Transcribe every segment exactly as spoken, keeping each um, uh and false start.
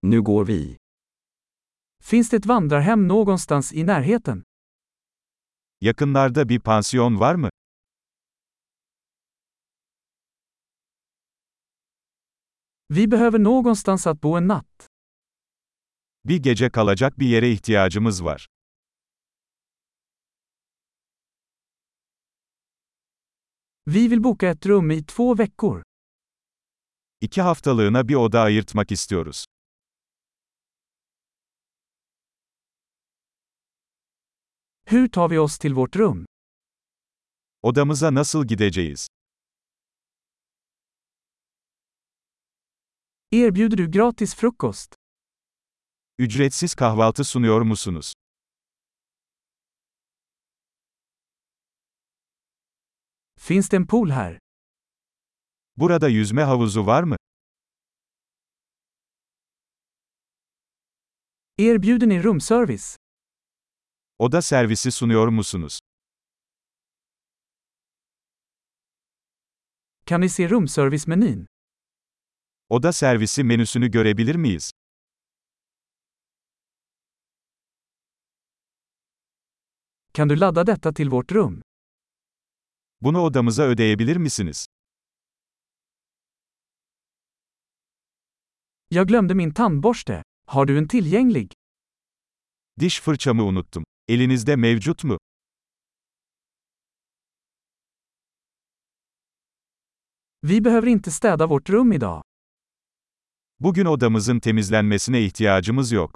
Nu går vi. Finns det ett vandrarhem någonstans i närheten? Yakınlarda bir pansiyon var mı? Vi behöver någonstans att bo en natt. Bir gece kalacak bir yere ihtiyacımız var. Vi vill boka ett rum i två veckor. İki haftalığına bir oda ayırtmak istiyoruz. Hur tar vi oss till vårt rum? Odamıza nasıl gideceğiz? Erbjuder du gratis frukost? Ücretsiz kahvaltı sunuyor musunuz? Finns det en pool här? Burada yüzme havuzu var mı? Erbjuder ni rumservice? Oda servisi sunuyor musunuz? Kan vi se rumservice-menyn? Oda servisi menüsünü görebilir miyiz? Kan du ladda detta till vårt rum? Bunu odamıza ödeyebilir misiniz? Jag glömde min tandborste. Har du en tillgänglig? Diş fırçamı unuttum. Elinizde mevcut mu? Vi behöver inte städa vårt rum idag. Bugün odamızın temizlenmesine ihtiyacımız yok.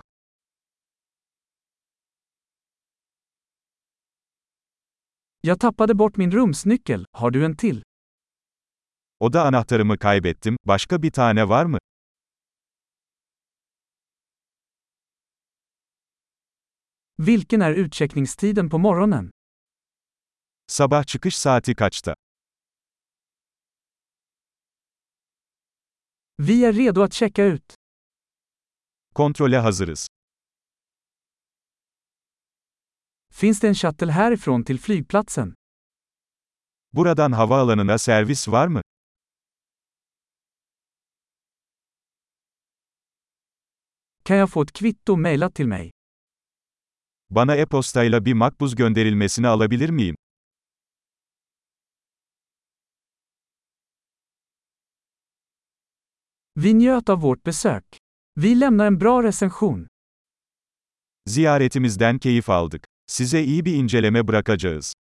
Jag tappade bort min rumsnyckel. Har du en till? Oda anahtarımı kaybettim. Başka bir tane var mı? Vilken är utcheckningstiden på morgonen? Sabah çıkış saati kaçta? Vi är redo att checka ut. Kontrole hazırız. Finns det en shuttle härifrån till flygplatsen? Buradan havaalanına servis var mı? Kan jag få ett kvitto mejlat till mig? Bana e-postayla bir makbuz gönderilmesini alabilir miyim? Vi njöt av vårt besök. Vi lämnar en bra recension. Ziyaretimizden keyif aldık. Size iyi bir inceleme bırakacağız.